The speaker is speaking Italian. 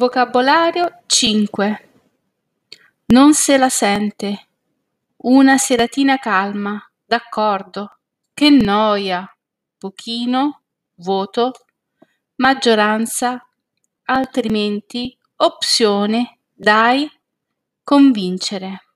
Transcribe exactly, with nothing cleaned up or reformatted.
Vocabolario cinque. Non se la sente. Una seratina calma, d'accordo. Che noia. Pochino, voto, maggioranza, altrimenti, opzione, dai, convincere.